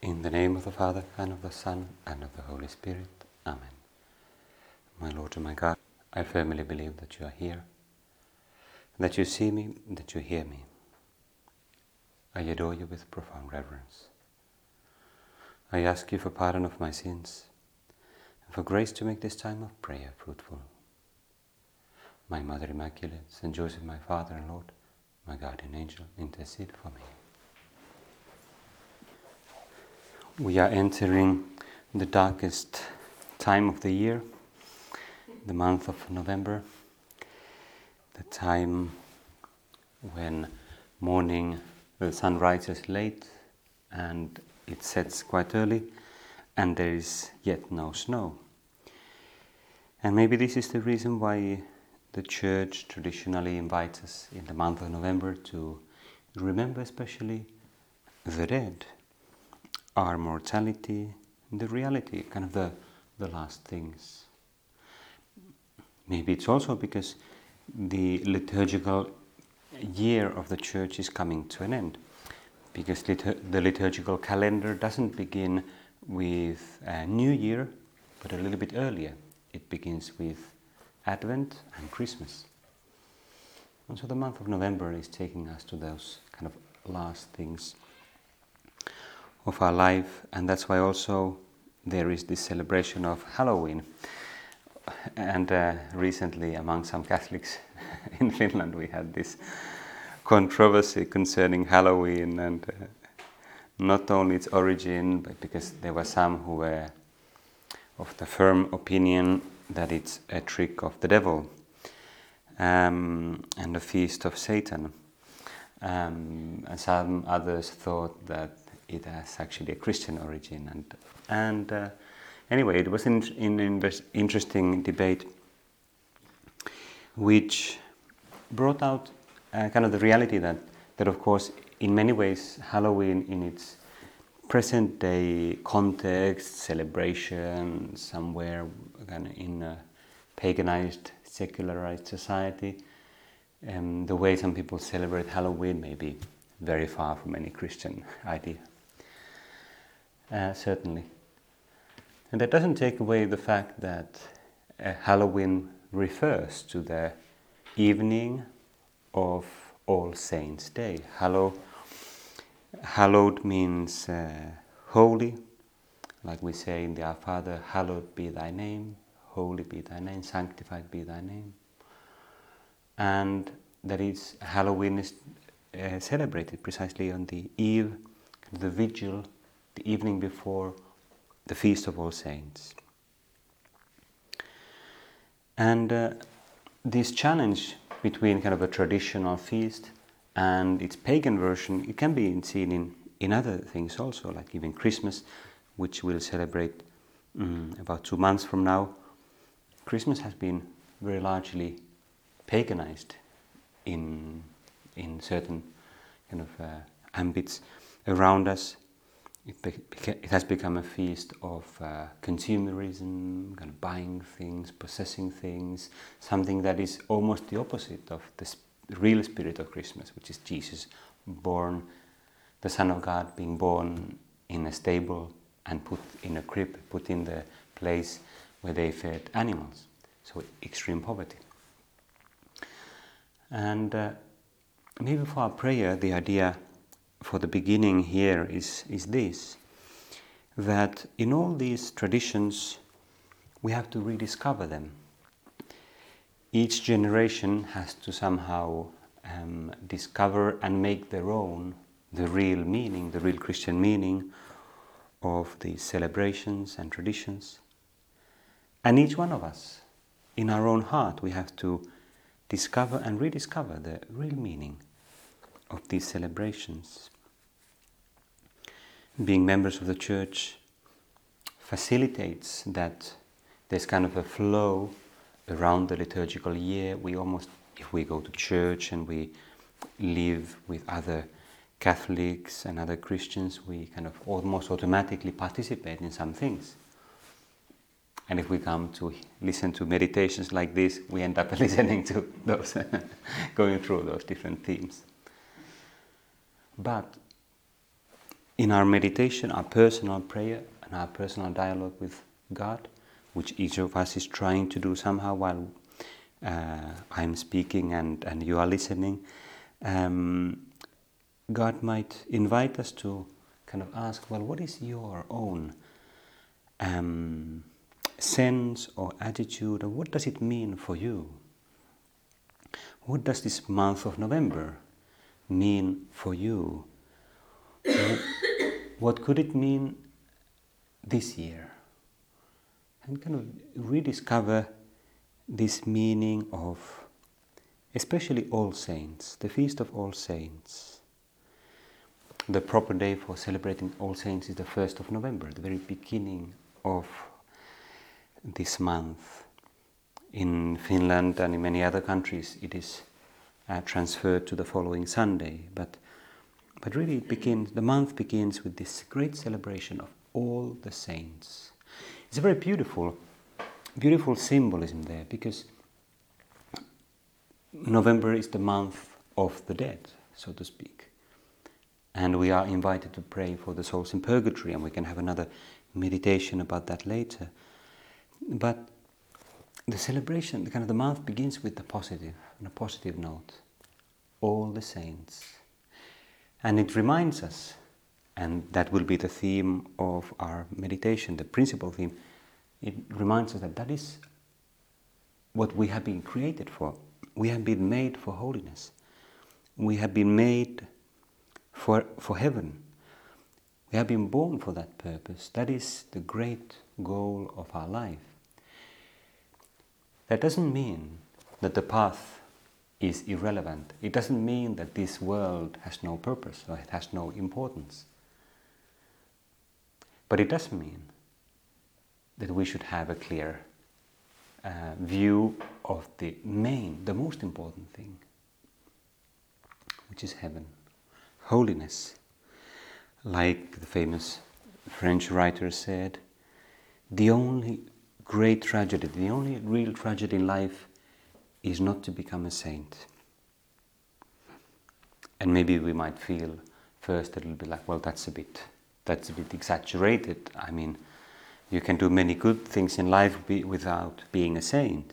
In the name of the Father, and of the Son, and of the Holy Spirit. Amen. My Lord and my God, I firmly believe that you are here, that you see me, that you hear me. I adore you with profound reverence. I ask you for pardon of my sins, and for grace to make this time of prayer fruitful. My Mother Immaculate, Saint Joseph, my Father and Lord, my guardian angel, intercede for me. We are entering the darkest time of the year, the month of November, the time when morning the sun rises late and it sets quite early, and there is yet no snow. And maybe this is the reason why the Church traditionally invites us in the month of November to remember especially the dead, our mortality, the reality, kind of the last things. Maybe it's also because the liturgical year of the Church is coming to an end, because the liturgical calendar doesn't begin with a new year, but a little bit earlier. It begins with Advent and Christmas. And so the month of November is taking us to those kind of last things of our life, and that's why also there is this celebration of Halloween. And recently among some Catholics in Finland we had this controversy concerning Halloween, and not only its origin, but because there were some who were of the firm opinion that it's a trick of the devil and a feast of Satan. And some others thought that it has actually a Christian origin. And anyway, it was an interesting debate which brought out kind of the reality that of course in many ways Halloween in its present day context, celebration, somewhere kind of in a paganized, secularized society, the way some people celebrate Halloween may be very far from any Christian idea. Certainly. And that doesn't take away the fact that Halloween refers to the evening of All Saints' Day. Hallowed means holy, like we say in the Our Father, hallowed be thy name, holy be thy name, sanctified be thy name. And that is, Halloween is celebrated precisely on the eve, the vigil, the evening before the Feast of All Saints. And this challenge between kind of a traditional feast and its pagan version, it can be seen in other things also, like even Christmas, which we'll celebrate about 2 months from now. Christmas has been very largely paganized in certain kind of ambits around us. It has become a feast of consumerism, kind of buying things, possessing things, something that is almost the opposite of the real spirit of Christmas, which is Jesus born, the Son of God being born in a stable and put in a crib, put in the place where they fed animals, so extreme poverty. And maybe for our prayer, the idea for the beginning here is this, that in all these traditions we have to rediscover them. Each generation has to somehow discover and make their own the real meaning, the real Christian meaning of these celebrations and traditions. And each one of us, in our own heart, we have to discover and rediscover the real meaning of these celebrations. Being members of the Church facilitates that there's kind of a flow around the liturgical year. We almost, if we go to church and we live with other Catholics and other Christians, we kind of almost automatically participate in some things. And if we come to listen to meditations like this, we end up listening to those, going through those different themes. But in our meditation, our personal prayer and our personal dialogue with God, which each of us is trying to do somehow while I'm speaking and you are listening, God might invite us to kind of ask, well, what is your own sense or attitude, or what does it mean for you? What does this month of November mean for you? What could it mean this year? And kind of rediscover this meaning of especially All Saints, the Feast of All Saints. The proper day for celebrating All Saints is the 1st of November, the very beginning of this month. In Finland and in many other countries it is transferred to the following Sunday, but really the month begins with this great celebration of all the saints. It's a very beautiful symbolism there, because November is the month of the dead, so to speak. And we are invited to pray for the souls in purgatory, and we can have another meditation about that later. But the celebration, the month begins with the positive, on a positive note. All the saints. And it reminds us, and that will be the theme of our meditation, the principal theme, it reminds us that is what we have been created for. We have been made for holiness. We have been made for heaven. We have been born for that purpose. That is the great goal of our life. That doesn't mean that the path is irrelevant. It doesn't mean that this world has no purpose or it has no importance. But it does mean that we should have a clear view of the most important thing, which is heaven, holiness. Like the famous French writer said, the only great tragedy, the only real tragedy in life is not to become a saint. And maybe we might feel first a little bit like, well, that's a bit exaggerated. I mean, you can do many good things in life without being a saint.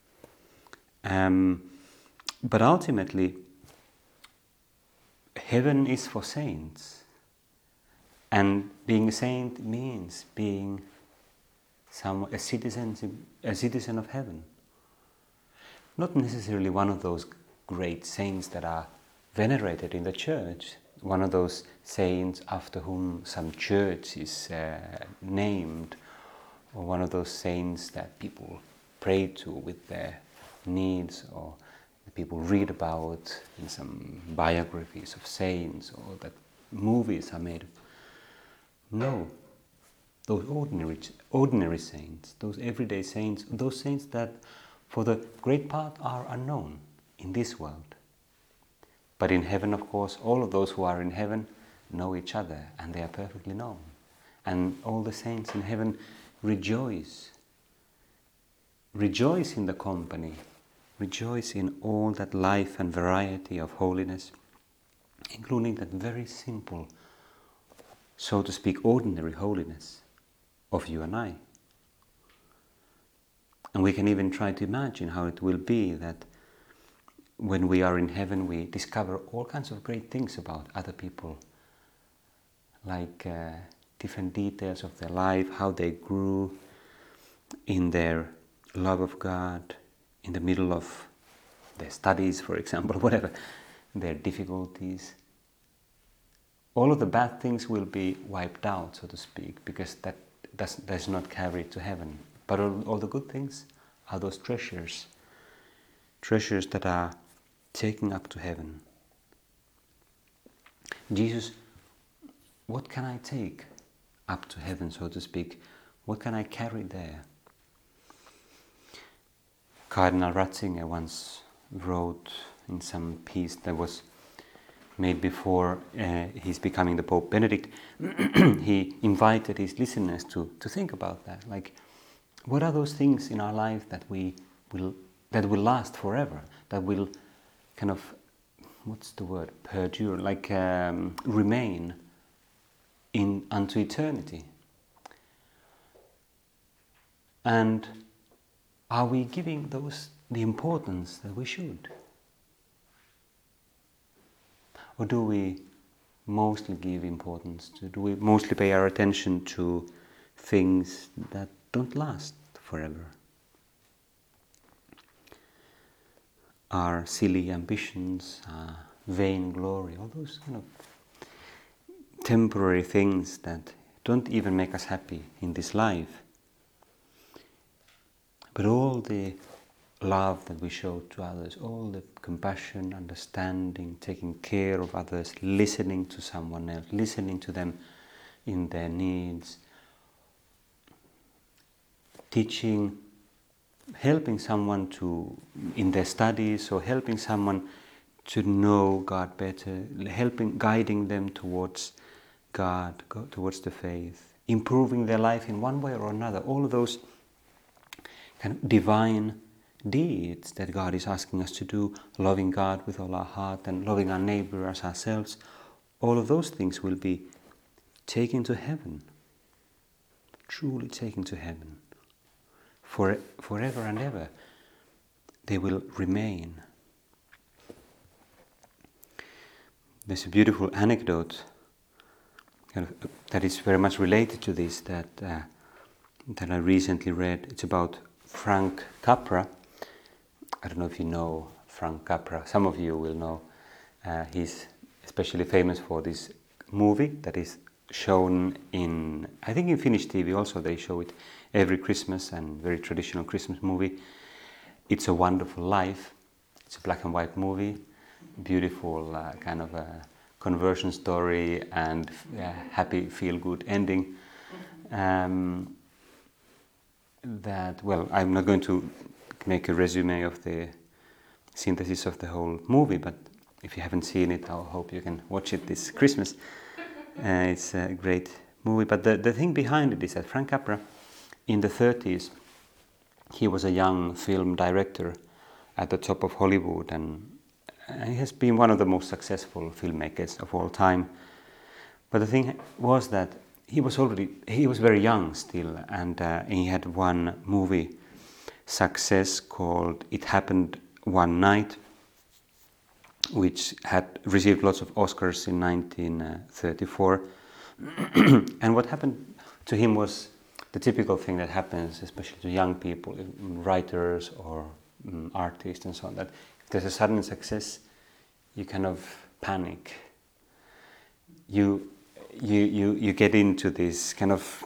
But ultimately, heaven is for saints. And being a saint means being a citizen of heaven. Not necessarily one of those great saints that are venerated in the church, one of those saints after whom some church is named, or one of those saints that people pray to with their needs, or that people read about in some biographies of saints, or that movies are made. No, those ordinary saints, those everyday saints, those saints that for the great part are unknown in this world. But in heaven, of course, all of those who are in heaven know each other, and they are perfectly known. And all the saints in heaven rejoice. Rejoice in the company. Rejoice in all that life and variety of holiness, including that very simple, so to speak, ordinary holiness of you and I. And we can even try to imagine how it will be that when we are in heaven, we discover all kinds of great things about other people, like different details of their life, how they grew in their love of God, in the middle of their studies, for example, whatever, their difficulties. All of the bad things will be wiped out, so to speak, because that does not carry to heaven. But all the good things are those treasures that are taken up to heaven. Jesus, what can I take up to heaven, so to speak? What can I carry there? Cardinal Ratzinger once wrote in some piece that was made before he's becoming the Pope Benedict, he invited his listeners to think about that. Like, what are those things in our life that will last forever, that will kind of, what's the word, perdure, like remain unto eternity. And are we giving those the importance that we should? Or do we mostly give importance to, do we mostly pay our attention to things that don't last forever? Our silly ambitions, our vain glory, all those kind of temporary things that don't even make us happy in this life. But all the love that we show to others, all the compassion, understanding, taking care of others, listening to someone else, listening to them in their needs, teaching, helping someone to in their studies, or helping someone to know God better, guiding them towards God, towards the faith, improving their life in one way or another. All of those kind of divine deeds that God is asking us to do, loving God with all our heart and loving our neighbor as ourselves, all of those things will be taken to heaven, truly taken to heaven, forever and ever. They will remain. There's a beautiful anecdote that is very much related to this that I recently read. It's about Frank Capra. I don't know if you know Frank Capra. Some of you will know. He's especially famous for this movie that is shown in, I think in Finnish TV also they show it every Christmas, and very traditional Christmas movie. It's a Wonderful Life. It's a black and white movie, beautiful kind of a conversion story and happy feel-good ending. That, well, I'm not going to make a resume of the synthesis of the whole movie, but if you haven't seen it, I hope you can watch it this Christmas. It's a great movie, but the thing behind it is that Frank Capra, in the 30s, he was a young film director at the top of Hollywood, and he has been one of the most successful filmmakers of all time. But the thing was that he was very young still, and he had one movie success called It Happened One Night, which had received lots of Oscars in 1934. And what happened to him was the typical thing that happens, especially to young people, writers or artists and so on, that if there's a sudden success, you kind of panic. You get into this kind of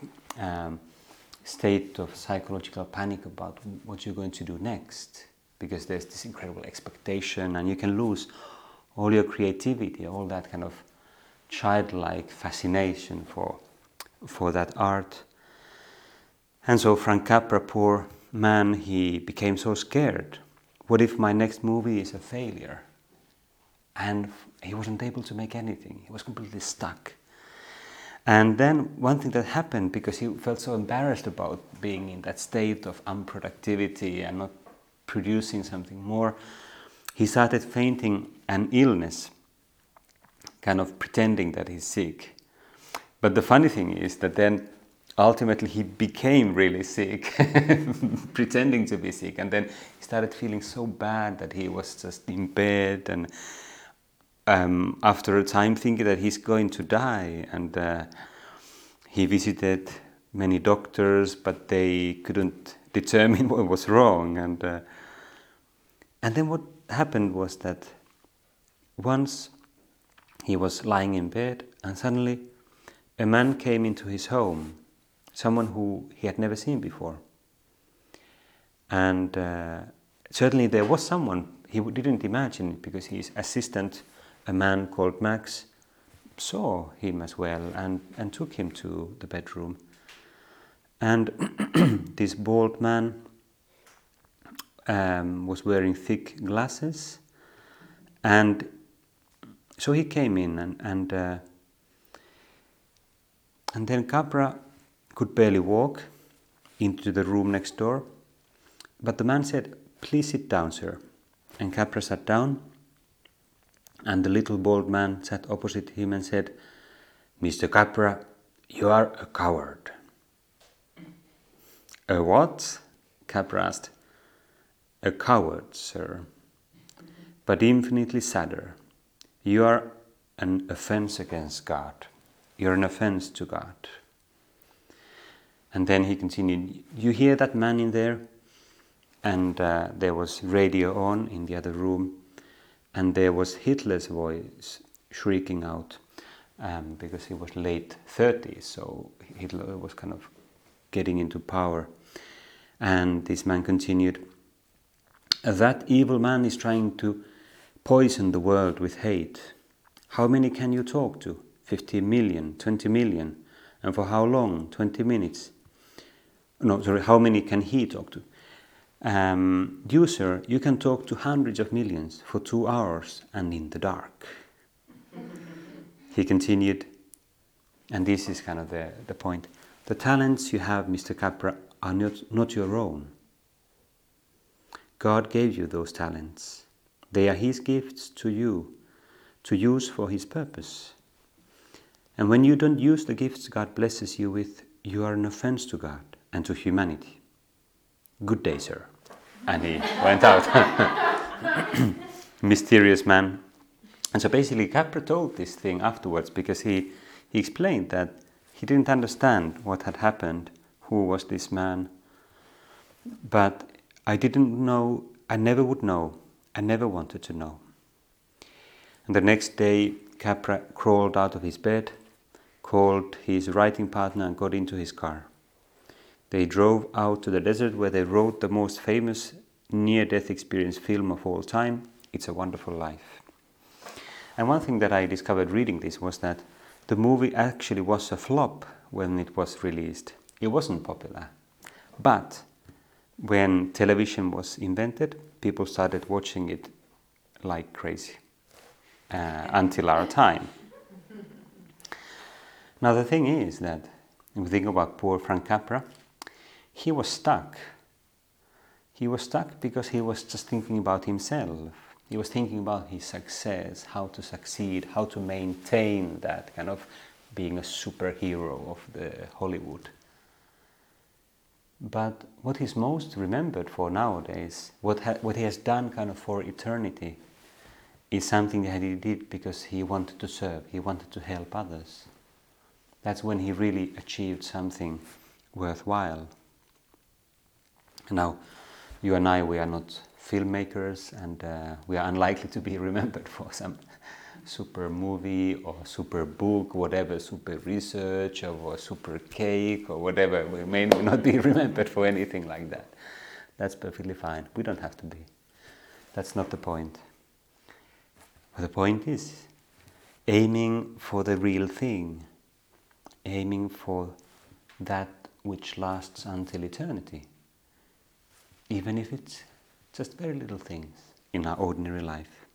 state of psychological panic about what you're going to do next, because there's this incredible expectation, and you can lose all your creativity, all that kind of childlike fascination for that art. And so Frank Capra, poor man, he became so scared. What if my next movie is a failure? And he wasn't able to make anything. He was completely stuck. And then one thing that happened, because he felt so embarrassed about being in that state of unproductivity and not producing something more, he started fainting an illness, kind of pretending that he's sick. But the funny thing is that then ultimately he became really sick, pretending to be sick, and then he started feeling so bad that he was just in bed, and after a time thinking that he's going to die, and he visited many doctors, but they couldn't determine what was wrong, and then what happened was that once he was lying in bed, and suddenly a man came into his home, someone who he had never seen before. And certainly there was someone, he didn't imagine it, because his assistant, a man called Max, saw him as well and took him to the bedroom. And this bald man was wearing thick glasses, and so he came in, and then Capra could barely walk into the room next door, but the man said, "Please sit down, sir." And Capra sat down, and the little bald man sat opposite him and said, "Mr. Capra, "You are a coward." "A what?" Capra asked. "A coward, sir. But infinitely sadder. You are an offense against God. You're an offense to God." And then he continued, "You hear that man in there?" And there was radio on in the other room, and there was Hitler's voice shrieking out, because he was late 30s, so Hitler was kind of getting into power. And this man continued, "That evil man is trying to poison the world with hate. How many can you talk to? 50 million, 20 million? And for how long? 20 minutes? No, sorry, how many can he talk to? You, sir, you can talk to hundreds of millions for 2 hours and in the dark." He continued, and this is kind of the point. "The talents you have, Mr. Capra, are not your own. God gave you those talents. They are His gifts to you, to use for His purpose. And when you don't use the gifts God blesses you with, you are an offense to God and to humanity. Good day, sir." And he went out. Mysterious man. And so basically Capra told this thing afterwards because he explained that he didn't understand what had happened, who was this man. But I didn't know, I never would know, I never wanted to know. And the next day Capra crawled out of his bed, called his writing partner and got into his car. They drove out to the desert where they wrote the most famous near-death experience film of all time, It's a Wonderful Life. And one thing that I discovered reading this was that the movie actually was a flop when it was released. It wasn't popular. But when television was invented, people started watching it like crazy until our time. Now the thing is that, if we think about poor Frank Capra, he was stuck. He was stuck because he was just thinking about himself. He was thinking about his success, how to succeed, how to maintain that kind of being a superhero of the Hollywood. But what he's most remembered for nowadays, what he has done kind of for eternity, is something that he did because he wanted to serve, he wanted to help others. That's when he really achieved something worthwhile. Now, you and I, we are not filmmakers, and we are unlikely to be remembered for some super movie or super book, whatever, super research or super cake or whatever. We may not be remembered for anything like that. That's perfectly fine. We don't have to be. That's not the point. But the point is aiming for the real thing, aiming for that which lasts until eternity, even if it's just very little things in our ordinary life.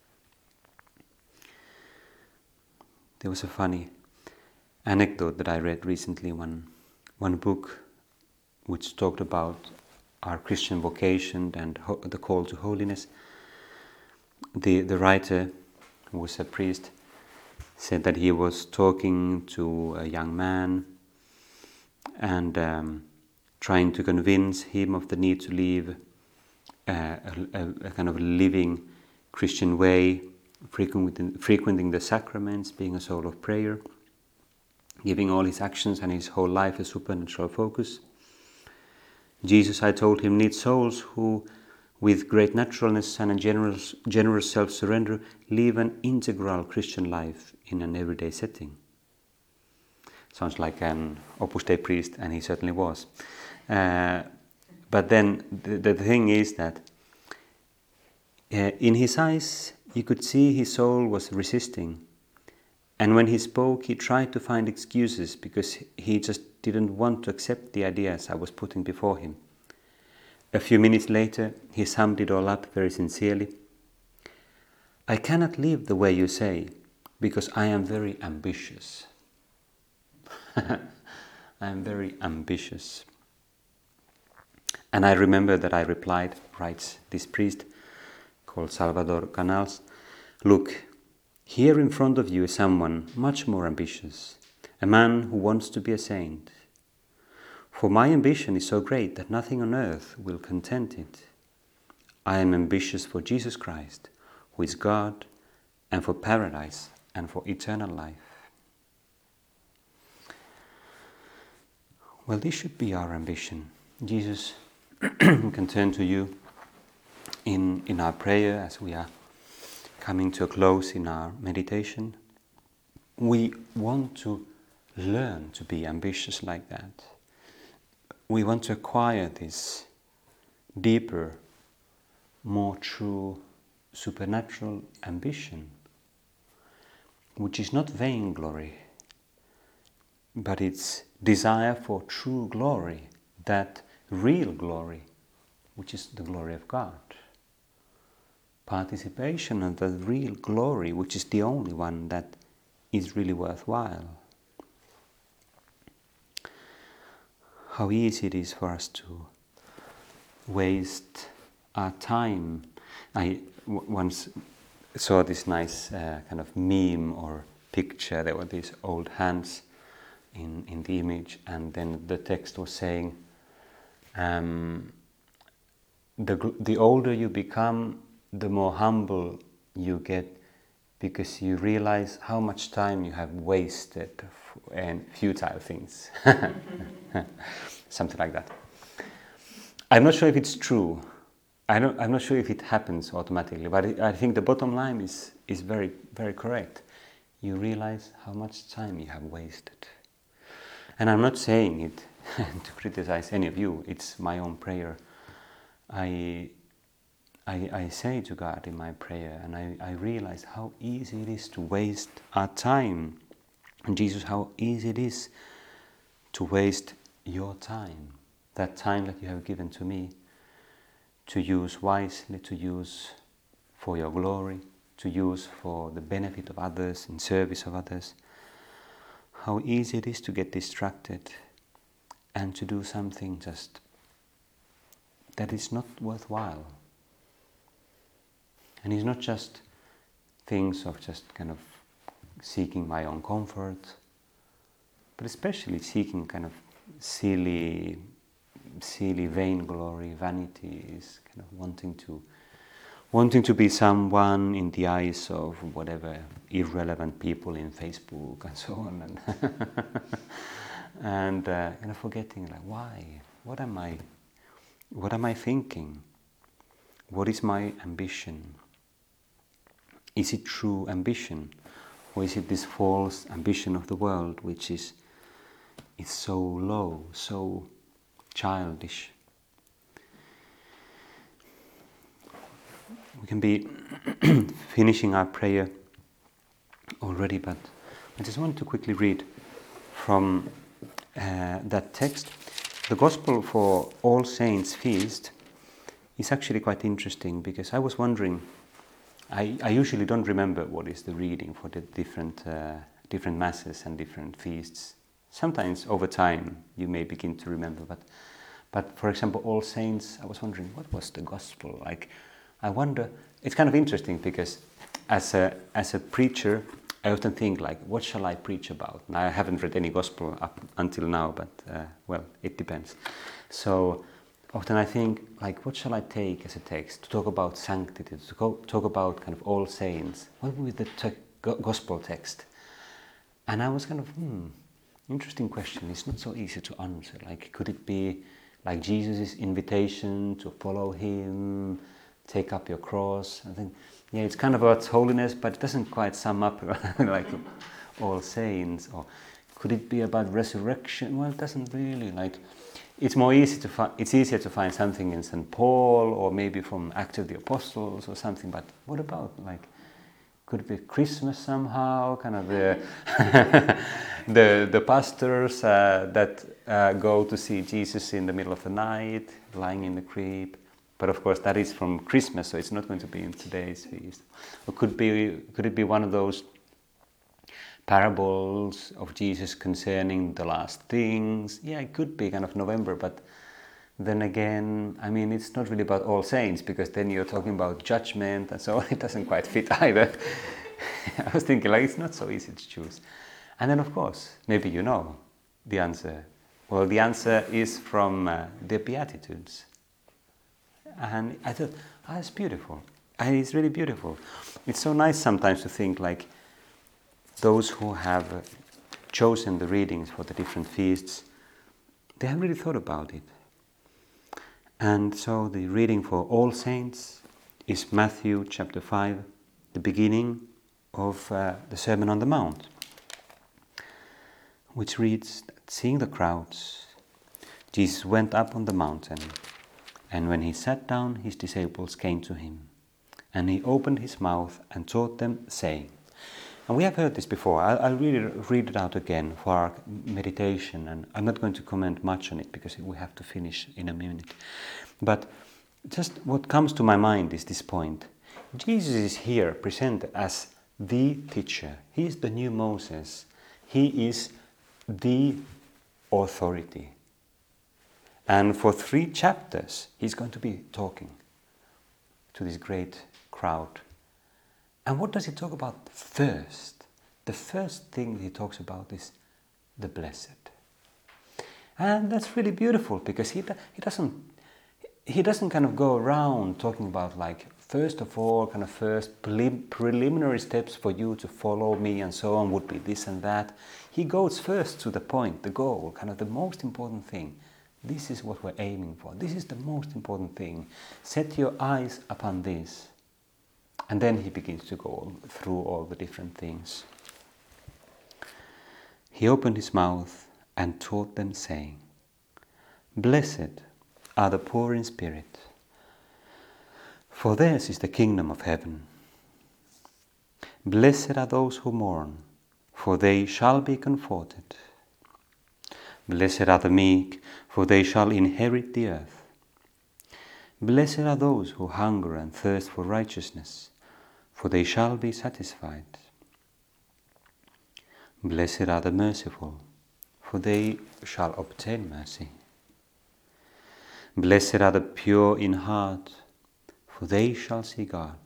There was a funny anecdote that I read recently, one book which talked about our Christian vocation and the call to holiness. The writer, who was a priest, said that he was talking to a young man and trying to convince him of the need to live a kind of living Christian way, frequenting the sacraments, being a soul of prayer, giving all his actions and his whole life a supernatural focus. Jesus, I told him, needs souls who, with great naturalness and a generous self-surrender, live an integral Christian life in an everyday setting. Sounds like an Opus Dei priest, and he certainly was. But then the thing is that in his eyes, you could see his soul was resisting. And when he spoke, he tried to find excuses because he just didn't want to accept the ideas I was putting before him. A few minutes later, he summed it all up very sincerely. I cannot live the way you say because I am very ambitious. I am very ambitious. And I remember that I replied, writes this priest called Salvador Canals, look, here in front of you is someone much more ambitious, a man who wants to be a saint. For my ambition is so great that nothing on earth will content it. I am ambitious for Jesus Christ, who is God, and for paradise, and for eternal life. Well, this should be our ambition. Jesus, we can turn to you in our prayer as we are coming to a close in our meditation. We want to learn to be ambitious like that. We want to acquire this deeper, more true, supernatural ambition, which is not vainglory, but it's desire for true glory, that real glory, which is the glory of God. Participation of the real glory, which is the only one that is really worthwhile. How easy it is for us to waste our time. I once saw this nice kind of meme or picture. There were these old hands in the image, and then the text was saying, the older you become, the more humble you get, because you realize how much time you have wasted in futile things. Something like that. I'm not sure if it's true. I'm not sure if it happens automatically, but I think the bottom line is very, very correct. You realize how much time you have wasted. And I'm not saying it to criticize any of you. It's my own prayer. I say to God in my prayer, and I realize how easy it is to waste our time. And Jesus, how easy it is to waste your time, that time that you have given to me, to use wisely, to use for your glory, to use for the benefit of others, in service of others. How easy it is to get distracted and to do something just that is not worthwhile. And it's not just things of just kind of seeking my own comfort, but especially seeking kind of silly vainglory, vanity, is kind of wanting to be someone in the eyes of whatever irrelevant people in Facebook and so on, and kind of forgetting, like, why? What am I thinking? What is my ambition? Is it true ambition, or is it this false ambition of the world, which is so low, so childish? We can be finishing our prayer already, but I just want to quickly read from that text. The Gospel for All Saints Feast is actually quite interesting, because I was wondering, I usually don't remember what is the reading for the different masses and different feasts. Sometimes over time you may begin to remember, but for example, All Saints, I was wondering, what was the Gospel like? I wonder. It's kind of interesting, because as a preacher, I often think, like, what shall I preach about? And I haven't read any Gospel up until now, but well, it depends. So often I think, like, what shall I take as a text to talk about sanctity, to talk about kind of all saints? What would be the Gospel text? And I was kind of, interesting question. It's not so easy to answer. Like, could it be like Jesus' invitation to follow him, take up your cross? I think, yeah, it's kind of about holiness, but it doesn't quite sum up like all saints. Or could it be about resurrection? Well, it doesn't really. Like, it's more easy to find. It's easier to find something in St. Paul, or maybe from Acts of the Apostles or something. But what about, like, could it be Christmas somehow? Kind of the pastors that go to see Jesus in the middle of the night, lying in the crib. But of course, that is from Christmas, so it's not going to be in today's feast. Or could it be one of those parables of Jesus concerning the last things? Yeah, it could be kind of November, but then again, I mean, it's not really about All Saints, because then you're talking about judgment and so on. It doesn't quite fit either. I was thinking, like, it's not so easy to choose. And then, of course, maybe you know the answer. Well, the answer is from the Beatitudes. And I thought, it's beautiful. And it's really beautiful. It's so nice sometimes to think like those who have chosen the readings for the different feasts, they have really thought about it. And so the reading for All Saints is Matthew chapter 5, the beginning of the Sermon on the Mount, which reads, seeing the crowds, Jesus went up on the mountain, and when he sat down, his disciples came to him, and he opened his mouth and taught them, saying, and we have heard this before. I'll read it out again for our meditation, and I'm not going to comment much on it because we have to finish in a minute. But just what comes to my mind is this point. Jesus is here presented as the teacher. He is the new Moses. He is the authority. And for 3 chapters, he's going to be talking to this great crowd. And what does he talk about first? The first thing he talks about is the blessed. And that's really beautiful because he doesn't kind of go around talking about like, first of all, kind of first preliminary steps for you to follow me and so on would be this and that. He goes first to the point, the goal, kind of the most important thing. This is what we're aiming for. This is the most important thing. Set your eyes upon this. And then he begins to go through all the different things. He opened his mouth and taught them, saying, blessed are the poor in spirit, for theirs is the kingdom of heaven. Blessed are those who mourn, for they shall be comforted. Blessed are the meek, for they shall inherit the earth. Blessed are those who hunger and thirst for righteousness, for they shall be satisfied. Blessed are the merciful, for they shall obtain mercy. Blessed are the pure in heart, for they shall see God.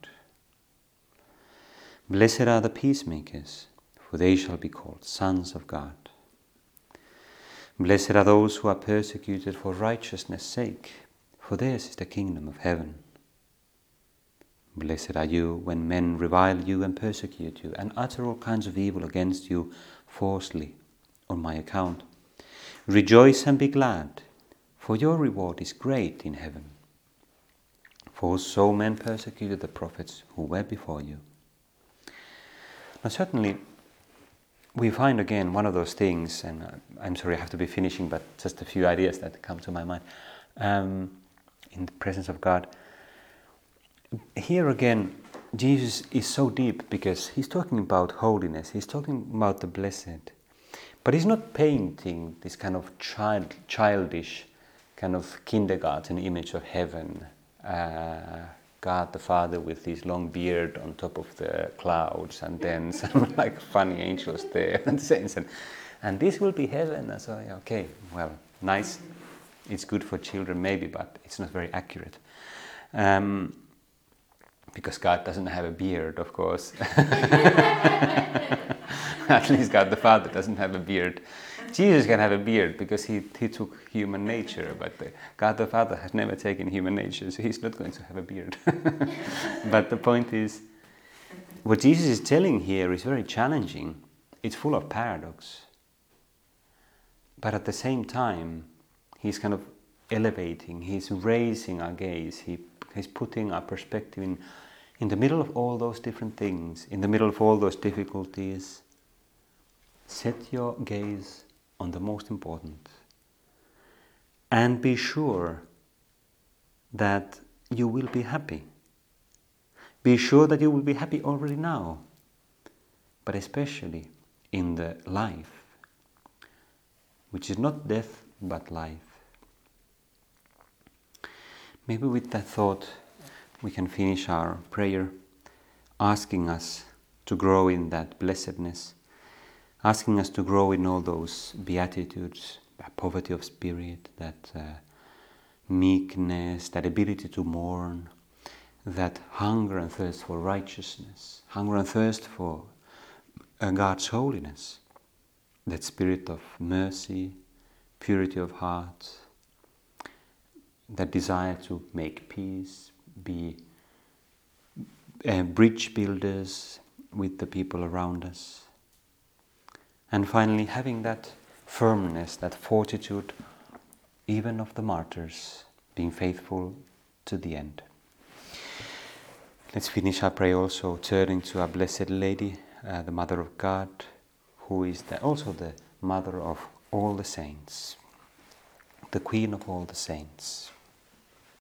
Blessed are the peacemakers, for they shall be called sons of God. Blessed are those who are persecuted for righteousness' sake, for theirs is the kingdom of heaven. Blessed are you when men revile you and persecute you, and utter all kinds of evil against you falsely on my account. Rejoice and be glad, for your reward is great in heaven. For so men persecuted the prophets who were before you. Now certainly, we find again one of those things, and I'm sorry I have to be finishing, but just a few ideas that come to my mind, in the presence of God. Here again, Jesus is so deep because he's talking about holiness, he's talking about the blessed, but he's not painting this kind of childish, kind of kindergarten image of heaven, God the Father with his long beard on top of the clouds, and then some like funny angels there and saints, and this will be heaven. And so, okay, well, nice. It's good for children maybe, but it's not very accurate. Because God doesn't have a beard, of course. At least God the Father doesn't have a beard. Jesus can have a beard because he took human nature, but God the Father has never taken human nature, so he's not going to have a beard. But the point is, what Jesus is telling here is very challenging. It's full of paradox. But at the same time, he's kind of elevating, he's raising our gaze, he's putting our perspective in the middle of all those different things, in the middle of all those difficulties. Set your gaze on the most important. And be sure that you will be happy. Be sure that you will be happy already now, but especially in the life, which is not death but life. Maybe with that thought we can finish our prayer, asking us to grow in that blessedness, asking us to grow in all those beatitudes, that poverty of spirit, that meekness, that ability to mourn, that hunger and thirst for righteousness, hunger and thirst for God's holiness. that spirit of mercy, purity of heart, that desire to make peace, be bridge builders with the people around us. And finally, having that firmness, that fortitude, even of the martyrs, being faithful to the end. Let's finish our prayer also turning to our Blessed Lady, the Mother of God, who is also the Mother of all the saints, the Queen of all the saints.